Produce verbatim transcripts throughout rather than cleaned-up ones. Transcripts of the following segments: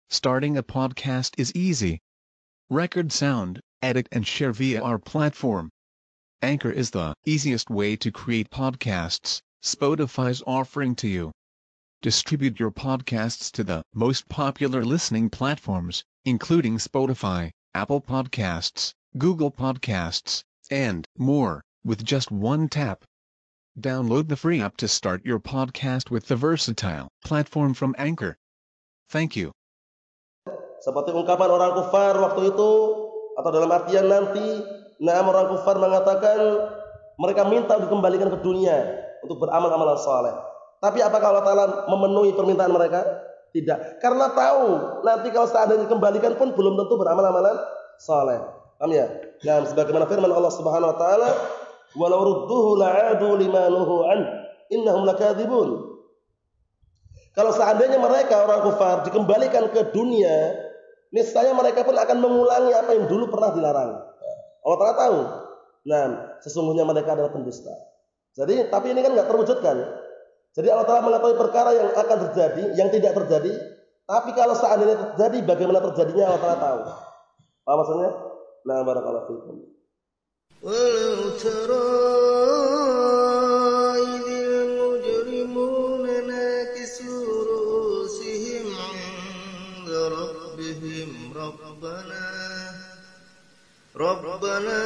Starting a podcast is easy. Record sound, edit and share via our platform. Anchor is the easiest way to create podcasts Spotify's offering to you. Distribute your podcasts to the most popular listening platforms, including Spotify, Apple Podcasts, Google Podcasts, and more, with just one tap. Download the free app to start your podcast with the versatile platform from Anchor. Thank you. Seperti ungkapan orang kufar waktu itu, atau dalam artian nanti, nah orang kufar mengatakan mereka minta dikembalikan ke dunia untuk beramal-amalan saleh. Tapi apakah Allah Ta'ala memenuhi permintaan mereka? Tidak. Karena tahu nanti kalau seandainya dikembalikan pun belum tentu beramal-amalan saleh. Paham ya? Nah, sebagaimana firman Allah Subhanahu wa taala, "Walau rudduhu la'adu lima nuhu an, innahum lakadzibun." Kalau seandainya mereka orang kufar dikembalikan ke dunia, niscaya mereka pun akan mengulangi apa yang dulu pernah dilarang. Allah Ta'ala tahu. Nah, sesungguhnya mereka adalah pendusta. Jadi, tapi ini kan nggak terwujudkan. Jadi Allah Ta'ala mengetahui perkara yang akan terjadi, yang tidak terjadi. Tapi kalau seandainya terjadi, bagaimana terjadinya Allah Ta'ala tahu. Paham maksudnya? Nah, barakallahu fiikum. Walau tara idhil mujrimuna nakisu ru'usihim 'inda rabbihim rabbana rabbana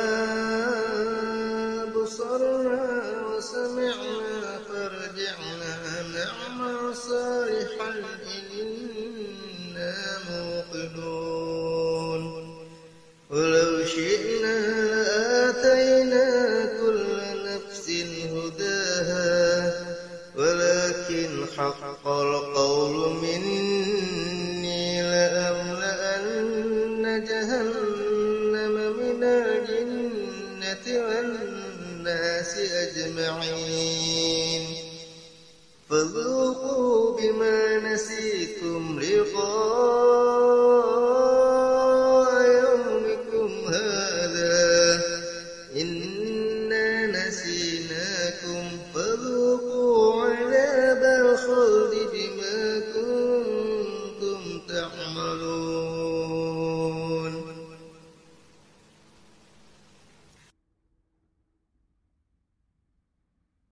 basarna wa sami'na farji'na na'mal salihan inna muqinun. Walau syi'na la'atayna kulla nafsin hudaha walakin haqqal qawlu minni la'amla'anna jahannama minal jinnati wan nasi ajma'in fadhuqu bima nasitum liqa